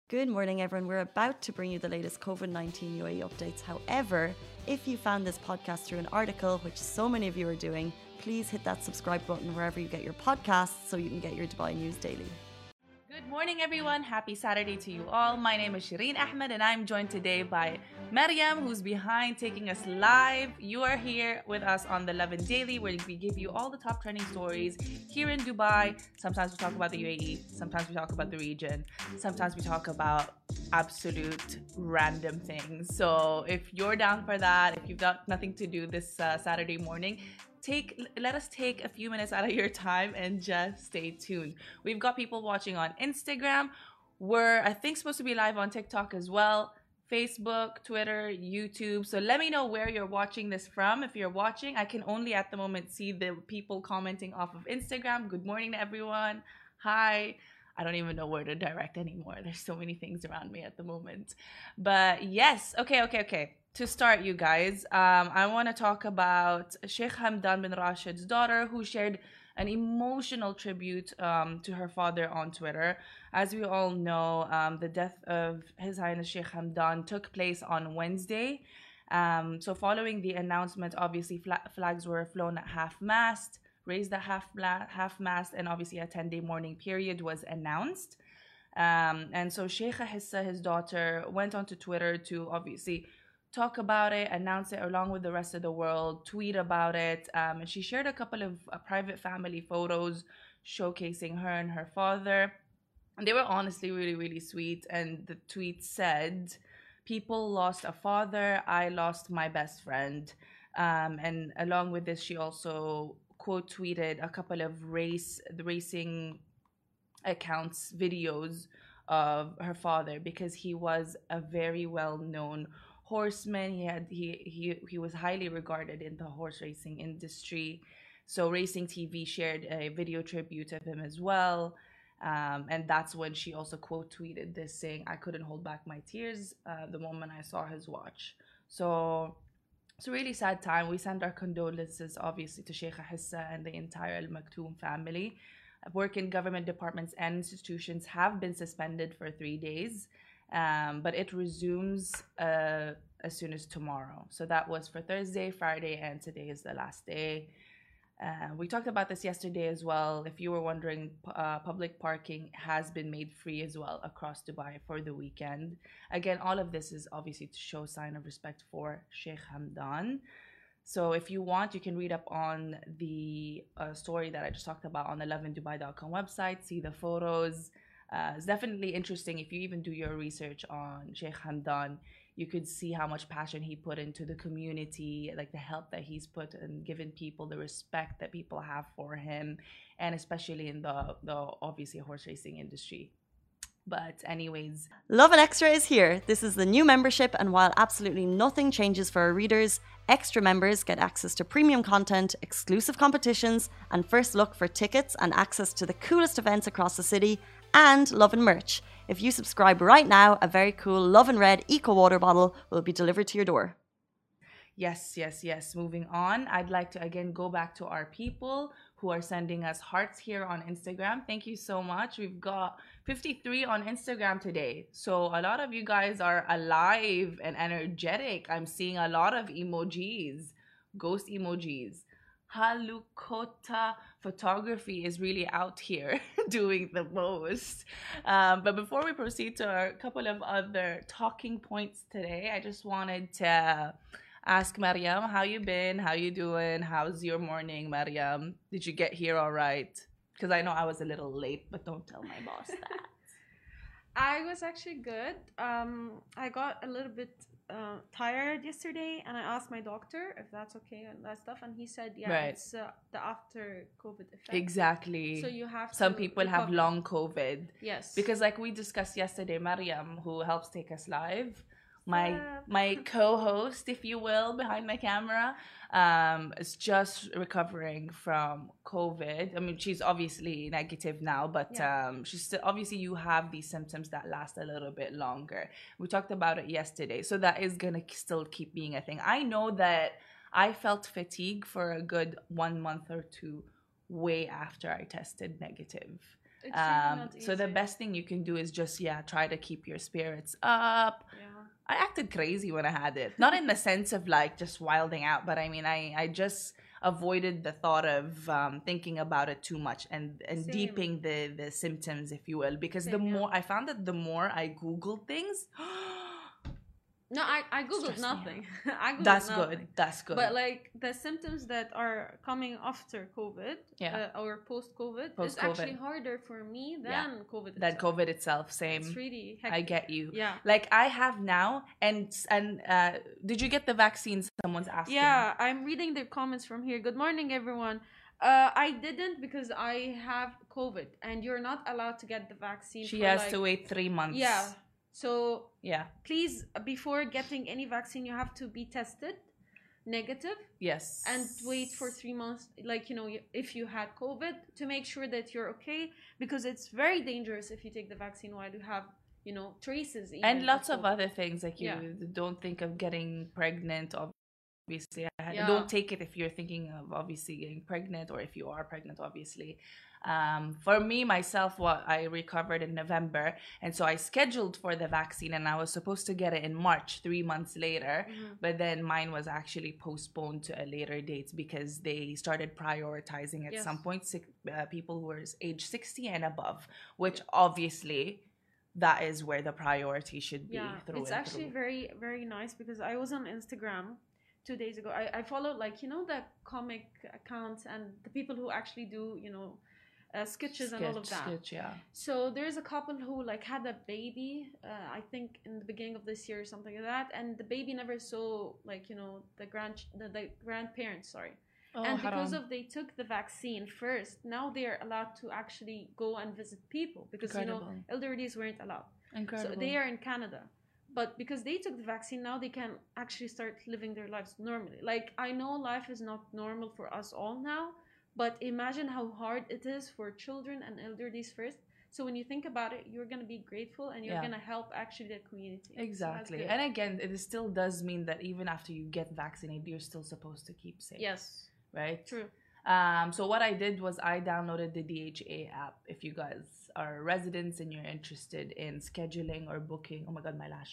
Good morning, everyone. We're about to bring you the latest COVID-19 UAE updates. However, if you found this podcast through an article, which so many of you are doing, please hit that subscribe button wherever you get your podcasts so you can get your Dubai news daily. Good morning, everyone. Happy Saturday to you all. My name is Shireen Ahmed, and I'm joined today by Maryam, who's behind taking us live. You are here with us on the Lovin Daily, where we give you all the top trending stories here in Dubai. Sometimes we talk about the UAE, sometimes we talk about the region, sometimes we talk about absolute random things. So if you're down for that, if you've got nothing to do this Saturday morning, let us take a few minutes out of your time and just stay tuned. We've got people watching on Instagram. We're, I think, supposed to be live on TikTok as well, Facebook, Twitter, YouTube. So let me know where you're watching this from. If you're watching, I can only at the moment see the people commenting off of Instagram. Good morning to everyone. Hi. I don't even know where to direct anymore. There's so many things around me at the moment. But yes, okay. To start, you guys, I want to talk about Sheikh Hamdan bin Rashid's daughter, who shared an emotional tribute to her father on Twitter. As we all know, the death of His Highness Sheikh Hamdan took place on Wednesday. So following the announcement, obviously flags were flown at half-mast, raised at half-mast, and obviously a 10-day mourning period was announced. And so Sheikha Hissa, his daughter, went onto Twitter to obviously talk about it, announce it along with the rest of the world, tweet about it. And she shared a couple of private family photos showcasing her and her father. And they were honestly really, really sweet. And the tweet said, "People lost a father, I lost my best friend." And along with this, she also quote tweeted a couple of racing accounts, videos of her father, because he was a very well-known horseman. He was highly regarded in the horse racing industry. So Racing TV shared a video tribute of him as well. And that's when she also quote tweeted this, saying, "I couldn't hold back my tears the moment I saw his watch." So it's a really sad time. We send our condolences, obviously, to Sheikha Hissa and the entire Al Maktoum family. Work in government departments and institutions have been suspended for 3 days, but it resumes as soon as tomorrow. So that was for Thursday, Friday, and today is the last day. We talked about this yesterday as well. If you were wondering, public parking has been made free as well across Dubai for the weekend. Again, all of this is obviously to show sign of respect for Sheikh Hamdan. So if you want, you can read up on the story that I just talked about on the lovindubai.com website, see the photos. It's definitely interesting. If you even do your research on Sheikh Hamdan, you could see how much passion he put into the community, like the help that he's put and given people, the respect that people have for him, and especially in the obviously horse racing industry. But anyways, Lovin Extra is here. This is the new membership, and while absolutely nothing changes for our readers, extra members get access to premium content, exclusive competitions, and first look for tickets and access to the coolest events across the city, and Lovin merch. If you subscribe right now, a very cool Lovin Red Eco Water bottle will be delivered to your door. Yes. Moving on, I'd like to again go back to our people who are sending us hearts here on Instagram. Thank you so much. We've got 53 on Instagram today. So a lot of you guys are alive and energetic. I'm seeing a lot of emojis, ghost emojis. Halukota photography is really out here doing the most. But before we proceed to a couple of other talking points today, I just wanted to ask Maryam, how you been? How you doing? How's your morning, Maryam? Did you get here all right? Because I know I was a little late, but don't tell my boss that. I was actually good. I got a little bit tired yesterday, and I asked my doctor if that's okay and that stuff, and he said, yeah, Right. it's the after COVID effect. Exactly. So you have Some to people have recover. long COVID. Yes. Because like we discussed yesterday, Maryam, who helps take us live, my Yeah. co-host, if you will, behind my camera, is just recovering from COVID. I mean, she's obviously negative now, but she's still, obviously you have these symptoms that last a little bit longer. We talked about it yesterday, so that is gonna still keep being a thing. I know that I felt fatigue for a good 1 month or two way after I tested negative. It's really not So the easy. best thing you can do is just try to keep your spirits up. Yeah. I acted crazy when I had it, not in the sense of like just wilding out, but I mean I just avoided the thought of thinking about it too much and Same. deeping the symptoms, if you will, because the Same, yeah. more I found that the more I googled things, No, I googled Stressed me nothing. I googled that's nothing. good. That's good. But like the symptoms that are coming after COVID, or post-COVID, is Post-COVID. actually harder for me than COVID. That itself. COVID itself, same. It's really I hectic. get you. Yeah. Like I have now, and did you get the vaccine? Someone's asking. Yeah, I'm reading the comments from here. Good morning, everyone. I didn't because I have COVID, and you're not allowed to get the vaccine. She for has like, to wait 3 months. Yeah. So Yeah. please, before getting any vaccine, you have to be tested negative Yes. and wait for 3 months, like, you know, if you had COVID, to make sure that you're okay, because it's very dangerous if you take the vaccine while you have, you know, traces even And lots of COVID. other things, like you Yeah. don't think of getting pregnant. Obviously, Yeah. don't take it if you're thinking of obviously getting pregnant, or if you are pregnant, obviously. For me, myself, I recovered in November, and so I scheduled for the vaccine, and I was supposed to get it in March, 3 months later, but then mine was actually postponed to a later date because they started prioritizing at Yes. some point people who were age 60 and above, which obviously that is where the priority should be. Yeah, through it's and actually through. very, very nice, because I was on Instagram 2 days ago. I followed, like, you know, the comic accounts and the people who actually do, you know, sketches and all of that. Sketch, yeah. So there's a couple who like had a baby, I think in the beginning of this year or something like that, and the baby never saw, like, you know, the grandparents, sorry. Oh, And because haram. of they took the vaccine first, now they're allowed to actually go and visit people, because you know, Incredible. elderlies weren't allowed. Incredible. So they are in Canada. But because they took the vaccine, now they can actually start living their lives normally. Like, I know life is not normal for us all now, but imagine how hard it is for children and elderlies first. So when you think about it, you're going to be grateful, and you're Yeah. going to help actually the community. So that's Exactly. good. And again, it still does mean that even after you get vaccinated, you're still supposed to keep safe. Yes, Right? true. So what I did was I downloaded the DHA app. If you guys are residents and you're interested in scheduling or booking, oh my god, my lash,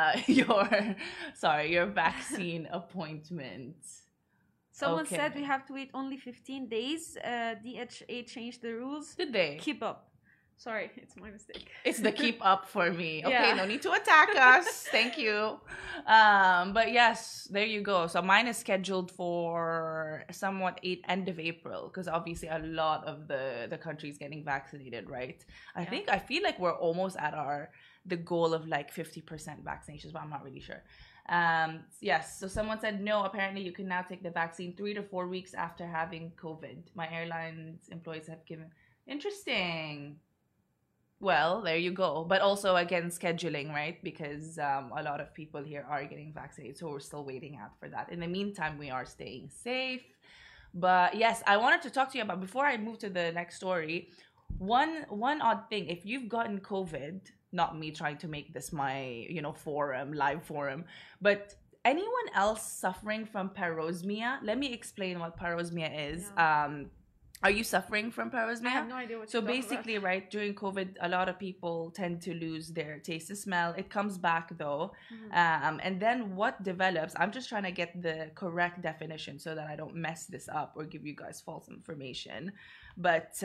your vaccine appointment. Someone Okay. said we have to wait only 15 days. DHA changed the rules. Did they? Keep up. Sorry, it's my mistake. It's the keep up for me. Okay, Yeah. no need to attack us. Thank you. But yes, there you go. So mine is scheduled for somewhat end of April, because obviously a lot of the country is getting vaccinated, right? Yeah. I feel like we're almost at the goal of like 50% vaccinations, but I'm not really sure. Yes, so someone said no, apparently you can now take the vaccine 3 to 4 weeks after having COVID. My airline's employees have given. Interesting. Well, there you go. But also, again, scheduling, right? Because a lot of people here are getting vaccinated, so we're still waiting out for that. In the meantime, we are staying safe. But yes, I wanted to talk to you about, before I move to the next story, one odd thing. If you've gotten COVID, not me trying to make this my, live forum, but anyone else suffering from parosmia? Let me explain what parosmia is. Yeah. Are you suffering from parosmia? I have no idea what So you're talking about. basically, right, during COVID, a lot of people tend to lose their taste and smell. It comes back though. And then what develops, I'm just trying to get the correct definition so that I don't mess this up or give you guys false information. But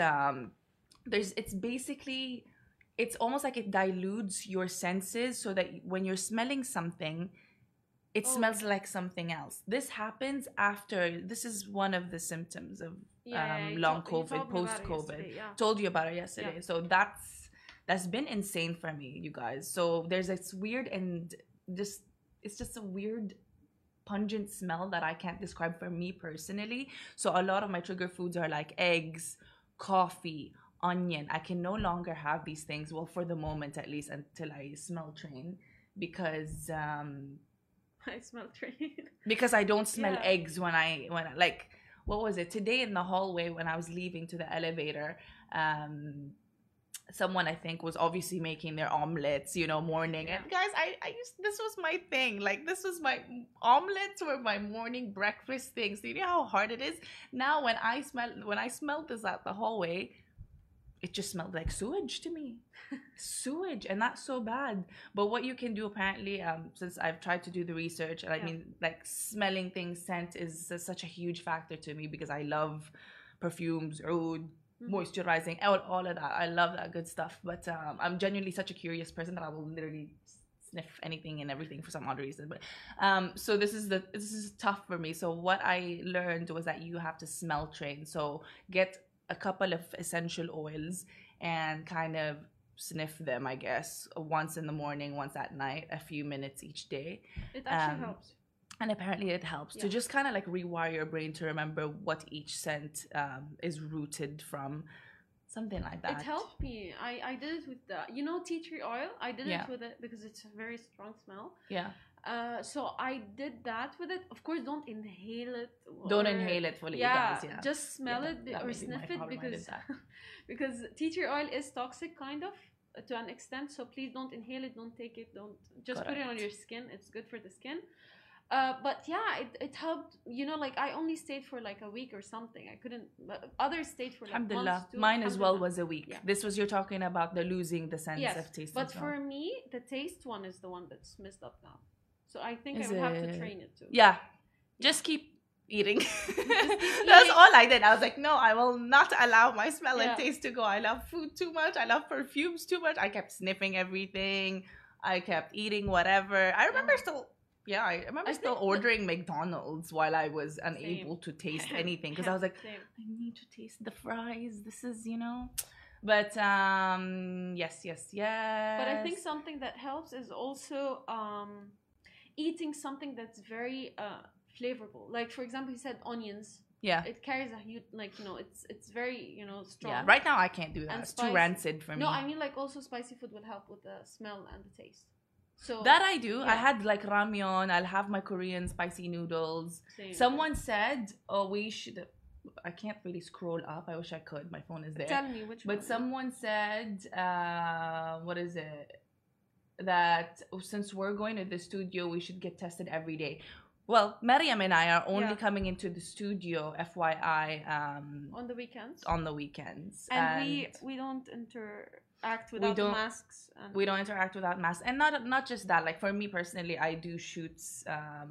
it's almost like it dilutes your senses, so that when you're smelling something, it smells like something else. This happens after, this is one of the symptoms of long COVID, post-COVID. Told you about it yesterday. Yeah. So that's been insane for me, you guys. So there's this weird and it's just a weird pungent smell that I can't describe for me personally. So a lot of my trigger foods are like eggs, coffee, onion. I can no longer have these things, well, for the moment at least, until I smell train, because I smell train. because I don't smell Yeah. eggs when I like, what was it today in the hallway when I was leaving to the elevator, someone I think was obviously making their omelets, morning. Yeah. And guys, this was my thing. Like, this was my omelets were my morning breakfast things. Do you know how hard it is? Now when I smell this at the hallway, it just smelled like sewage to me. Sewage, and that's so bad. But what you can do apparently, since I've tried to do the research, and I mean, like smelling things, scent is such a huge factor to me because I love perfumes, oud, moisturizing, all of that. I love that good stuff. But I'm genuinely such a curious person that I will literally sniff anything and everything for some odd reason. But so this is tough for me. So what I learned was that you have to smell train. So get a couple of essential oils and kind of sniff them, I guess, once in the morning, once at night, a few minutes each day. It actually helps. And apparently it helps to just kind of like rewire your brain to remember what each scent is rooted from. Something like that. It helped me. I did it with the, tea tree oil. I did it with it because it's a very strong smell. Yeah. So I did that with it. Of course, don't inhale it. Don't inhale it fully, guys. Yeah. Just smell it or sniff it because tea tree oil is toxic, kind of, to an extent. So please don't inhale it. Don't take it. Don't just put it on your skin. It's good for the skin. But yeah, it helped. Like I only stayed for like a week or something. I couldn't. But others stayed for like months too. Mine as well was a week. Yeah. This was, you're talking about the losing the sense of taste. But for me, the taste one is the one that's messed up now. So I think I would have to train it too. Yeah. Just keep eating. That's all I did. I was like, no, I will not allow my smell and taste to go. I love food too much. I love perfumes too much. I kept sniffing everything. I kept eating whatever. I remember I remember still ordering McDonald's while I was unable to taste anything because I was like, I need to taste the fries. This is, But yes. But I think something that helps is also eating something that's very flavorful. Like for example, you said onions. Yeah. It carries a huge, it's very, strong. Yeah. Right now I can't do that. It's too rancid for me. No, I mean like also spicy food will help with the smell and the taste. So that I do. I had like ramyeon. I'll have my Korean spicy noodles. Someone said, we should. I can't really scroll up. I wish I could. My phone is there. Tell me which one. But someone said, what is it? That since we're going to the studio, we should get tested every day. Well, Mariam and I are only coming into the studio, FYI. On the weekends. On the weekends. And we don't interact without masks. We don't interact without masks. And not just that. Like for me personally, I do shoots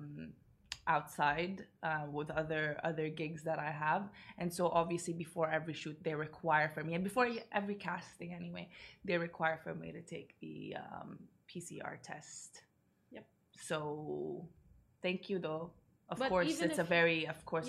outside with other gigs that I have. And so obviously before every shoot, they require for me, and before every casting anyway, they require for me to take the PCR test. Yep. So thank you though. Of course, it's a very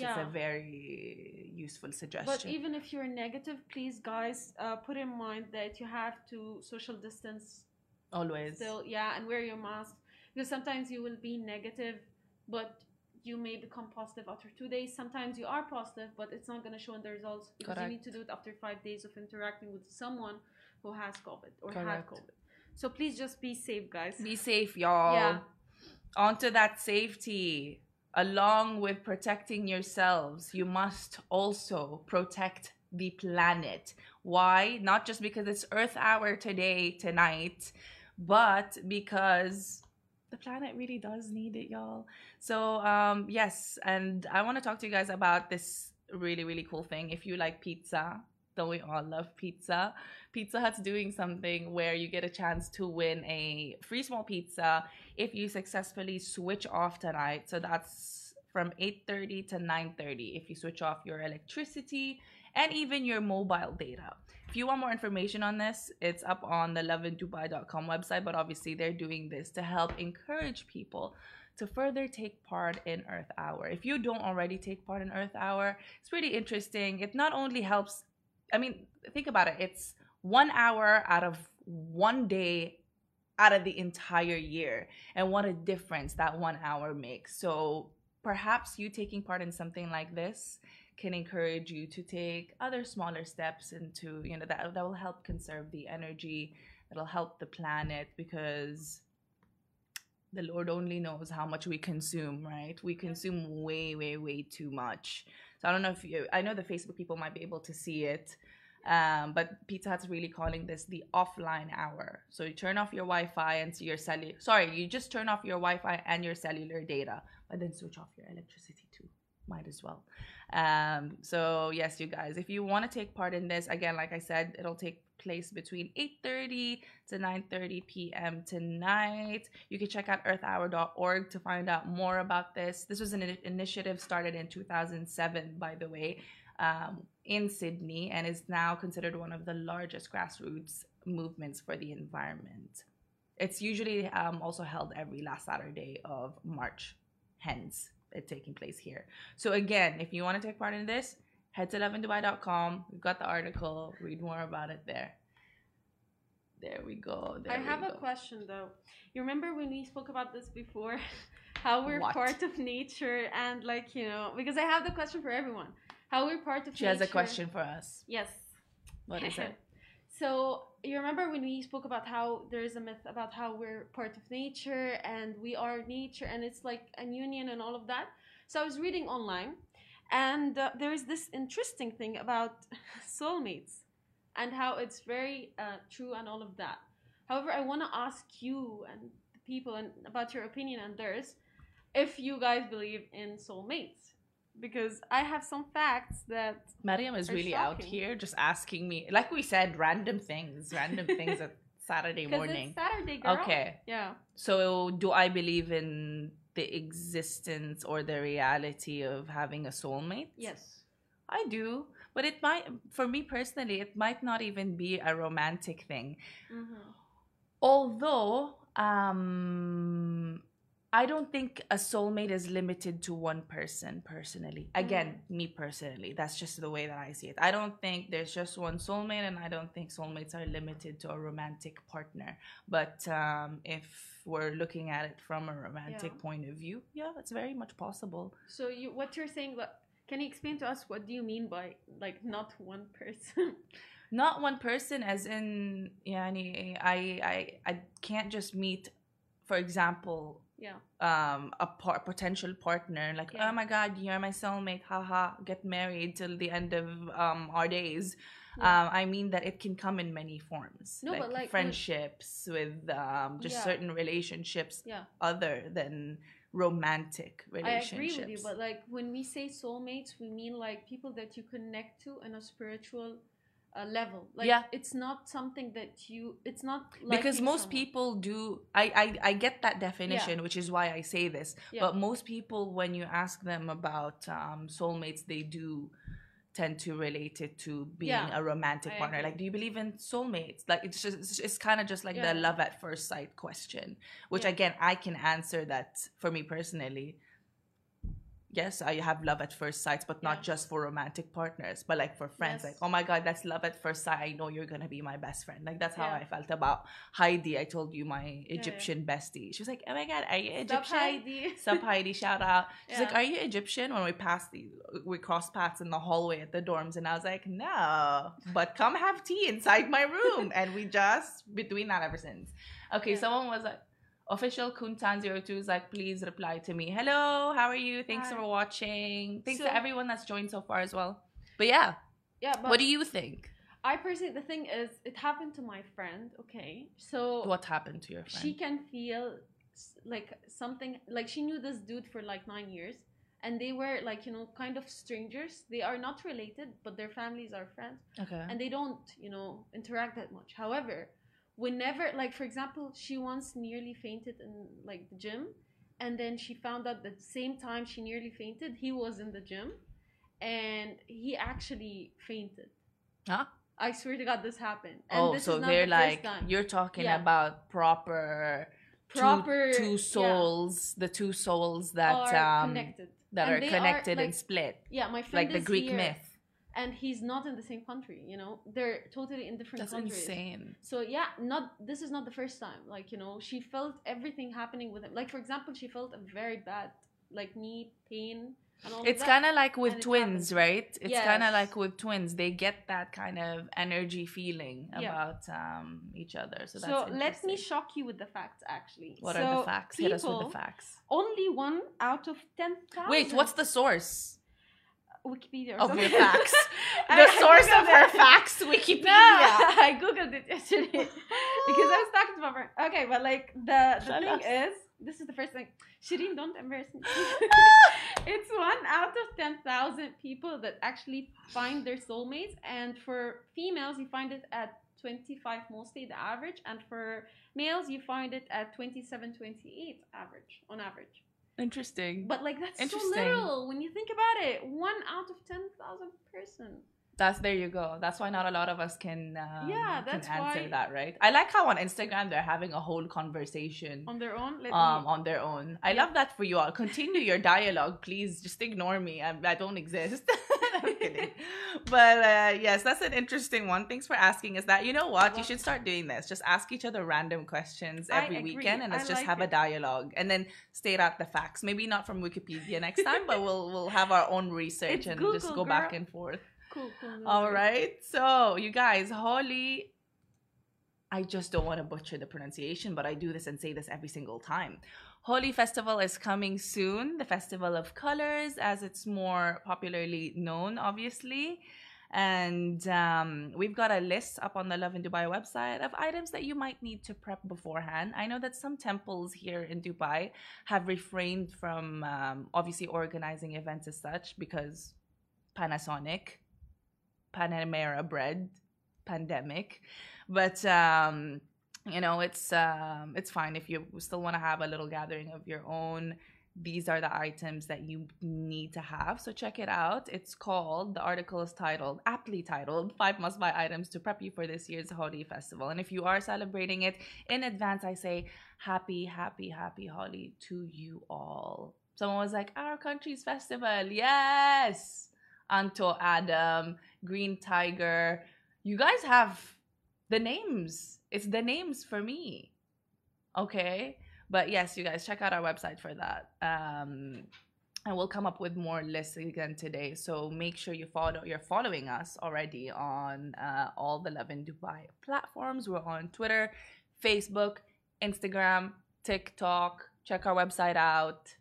useful suggestion. But even if you're negative, please, guys, put in mind that you have to social distance. Always. Still, and wear your mask. Because sometimes you will be negative, but you may become positive after 2 days. Sometimes you are positive, but it's not going to show in the results because you need to do it after 5 days of interacting with someone who has COVID or had COVID. So please just be safe, guys. Be safe, y'all. Yeah. Onto that safety. Along with protecting yourselves, you must also protect the planet. Why? Not just because it's Earth Hour tonight, but because the planet really does need it, y'all. So, yes, and I want to talk to you guys about this really, really cool thing. If you like pizza, don't we all love pizza? Pizza Hut's doing something where you get a chance to win a free small pizza if you successfully switch off tonight. So that's from 8:30 to 9:30 if you switch off your electricity and even your mobile data. If you want more information on this, it's up on the loveanddubai.com website, but obviously they're doing this to help encourage people to further take part in Earth Hour. If you don't already take part in Earth Hour, it's really interesting. It not only helps, I mean, think about it. It's 1 hour out of 1 day out of the entire year. And what a difference that 1 hour makes. So perhaps you taking part in something like this can encourage you to take other smaller steps into, that will help conserve the energy. It'll help the planet because the Lord only knows how much we consume, right? We consume way, way, way too much. So I don't know I know the Facebook people might be able to see it. But Pizza Hut's really calling this the offline hour. So you turn off your Wi-Fi and your you just turn off your Wi-Fi and your cellular data, but then switch off your electricity too. might as well. So yes, you guys, if you want to take part in this, again, like I said, it'll take place between 8:30 to 9:30 p.m. tonight. You can check out earthhour.org to find out more about this. This was an initiative started in 2007, by the way, in Sydney, and is now considered one of the largest grassroots movements for the environment. It's usually also held every last Saturday of March, hence it taking place here. So again, if you want to take part in this, head to lovindubai.com. We've got the article. Read more about it there. There we go. I have a question though. You remember when we spoke about this before? How we're part of nature, and like, you know, because I have the question for everyone. How we're part of nature. She has a question for us. Yes. What is it? So you remember when we spoke about how there is a myth about how we're part of nature and we are nature and it's like a union and all of that. So I was reading online, and there is this interesting thing about soulmates and how it's very true and all of that. However, I want to ask you and the people and about your opinion and theirs, if you guys believe in soulmates. Because I have some facts that Mariam is really shocking. Out here just asking me, like we said, random things at Saturday morning. It's Saturday, girl. Okay. Yeah. So do I believe in the existence or the reality of having a soulmate? Yes. I do. But it might, for me personally, it might not even be a romantic thing. Mm-hmm. Although, I don't think a soulmate is limited to one person personally. Again, me personally, that's just the way that I see it. I don't think there's just one soulmate, and I don't think soulmates are limited to a romantic partner. But if we're looking at it from a romantic point of view, yeah, that's very much possible. So what you're saying, can you explain to us what do you mean by like not one person? Not one person as in, I can't just meet, for example, a potential partner, like, oh my god, you're my soulmate, haha, get married till the end of our days. I mean that it can come in many forms. No, but like friendships with certain relationships other than romantic relationships. I agree with you, but like when we say soulmates, we mean like people that you connect to in a spiritual level. Like it's not something that it's not like, because most people do. I get that definition, which is why I say this. But most people, when you ask them about soulmates, they do tend to relate it to being a romantic partner. Like, do you believe in soulmates? Like, it's kind of just like the love at first sight question, which again, I can answer that for me personally. Yes, I have love at first sight, but not just for romantic partners, but like for friends. Like, oh my God, that's love at first sight. I know you're going to be my best friend. Like, that's how I felt about Heidi. I told you, my Egyptian bestie. She was like, oh my God, are you Egyptian? Sup, Heidi. Sup, Heidi, shout out. She's like, are you Egyptian? When we crossed paths in the hallway at the dorms. And I was like, no, but come have tea inside my room. And we just, between that ever since. Okay, someone was like, Official Kuntan02 is like, please reply to me. Hello, how are you? Thanks for watching. Thanks to everyone that's joined so far as well. But but what do you think? I personally, the thing is, it happened to my friend. Okay, so what happened to your friend? She can feel like something, like she knew this dude for like 9 years, and they were like, kind of strangers. They are not related, but their families are friends. Okay, and they don't, interact that much. However, whenever, like, for example, she once nearly fainted in like the gym, and then she found out that the same time she nearly fainted, he was in the gym and he actually fainted. Huh? I swear to God, this happened. And this so is not they're the like, first time. you're talking about proper two souls, the two souls that are connected, and split. Yeah, my friend, like the Greek myth. And he's not in the same country, they're totally in different countries. That's insane. So this is not the first time. Like, she felt everything happening with him. Like, for example, she felt a very bad, like, knee pain and all It's kind of like with twins, right? It's kind of Yes. like with twins. They get that kind of energy feeling about each other. So that's interesting. Let me shock you with the facts, actually. What are the facts? Hit us with the facts. Only 1 out of 10,000. Wait, what's the source? Wikipedia or of something. your facts. The source of her facts, Wikipedia. No, I googled it yesterday because I was talking to my friend. Okay, but like the thing is this is the first thing. Shireen, don't embarrass me. It's 1 out of 10,000 people that actually find their soulmates. And for females, you find it at 25 mostly, the average. And for males, you find it at 27, 28 on average. Interesting. But like, that's so little when you think about it. 1 out of 10,000 person. There you go. That's why not a lot of us can answer that, right? I like how on Instagram they're having a whole conversation on their own. On their own. I love that for you all. Continue your dialogue, please. Just ignore me. I don't exist. I'm kidding. But yes, that's an interesting one. Thanks for asking us that. You know what? You should start doing this. Just ask each other random questions every weekend, and let's just have a dialogue, and then state out the facts. Maybe not from Wikipedia next time, but we'll have our own research and Google, just go back and forth. Cool. All right. So, you guys, Holi, I just don't want to butcher the pronunciation, but I do this and say this every single time. Holi Festival is coming soon. The Festival of Colors, as it's more popularly known, obviously. And we've got a list up on the Lovin Dubai website of items that you might need to prep beforehand. I know that some temples here in Dubai have refrained from obviously organizing events as such because Panasonic, Panamera bread, pandemic. But you know, it's fine if you still want to have a little gathering of your own. These are the items that you need to have, so check it out. The article is aptly titled 5 must-buy items to prep you for this year's Holi Festival. And if you are celebrating it in advance, I say happy Holi to you all. Someone was like, our country's festival, yes. Anto Adam, Green Tiger. You guys have the names. It's the names for me. Okay? But yes, you guys, check out our website for that. And we'll come up with more lists again today. So make sure you're following us already on all the Lovin Dubai platforms. We're on Twitter, Facebook, Instagram, TikTok. Check our website out.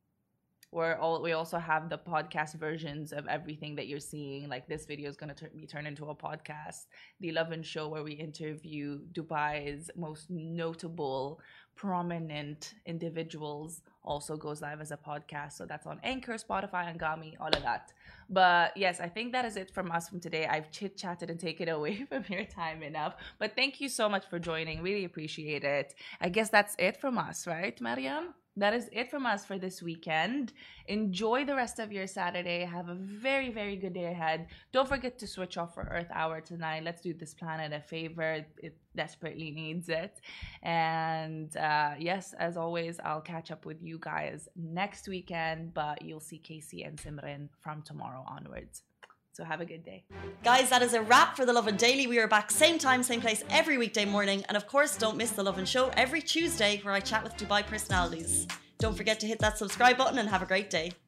We also have the podcast versions of everything that you're seeing. Like this video is going to be turned into a podcast. The Lovin Show, where we interview Dubai's most notable, prominent individuals, also goes live as a podcast. So that's on Anchor, Spotify, Angami, all of that. But yes, I think that is it from us from today. I've chit-chatted and taken away from your time enough. But thank you so much for joining. Really appreciate it. I guess that's it from us, right, Mariam? That is it from us for this weekend. Enjoy the rest of your Saturday. Have a very, very good day ahead. Don't forget to switch off for Earth Hour tonight. Let's do this planet a favor. It desperately needs it. And yes, as always, I'll catch up with you guys next weekend. But you'll see Casey and Simran from tomorrow onwards. So have a good day. Guys, that is a wrap for The Lovin Daily. We are back same time, same place every weekday morning. And of course, don't miss The Lovin Show every Tuesday where I chat with Dubai personalities. Don't forget to hit that subscribe button and have a great day.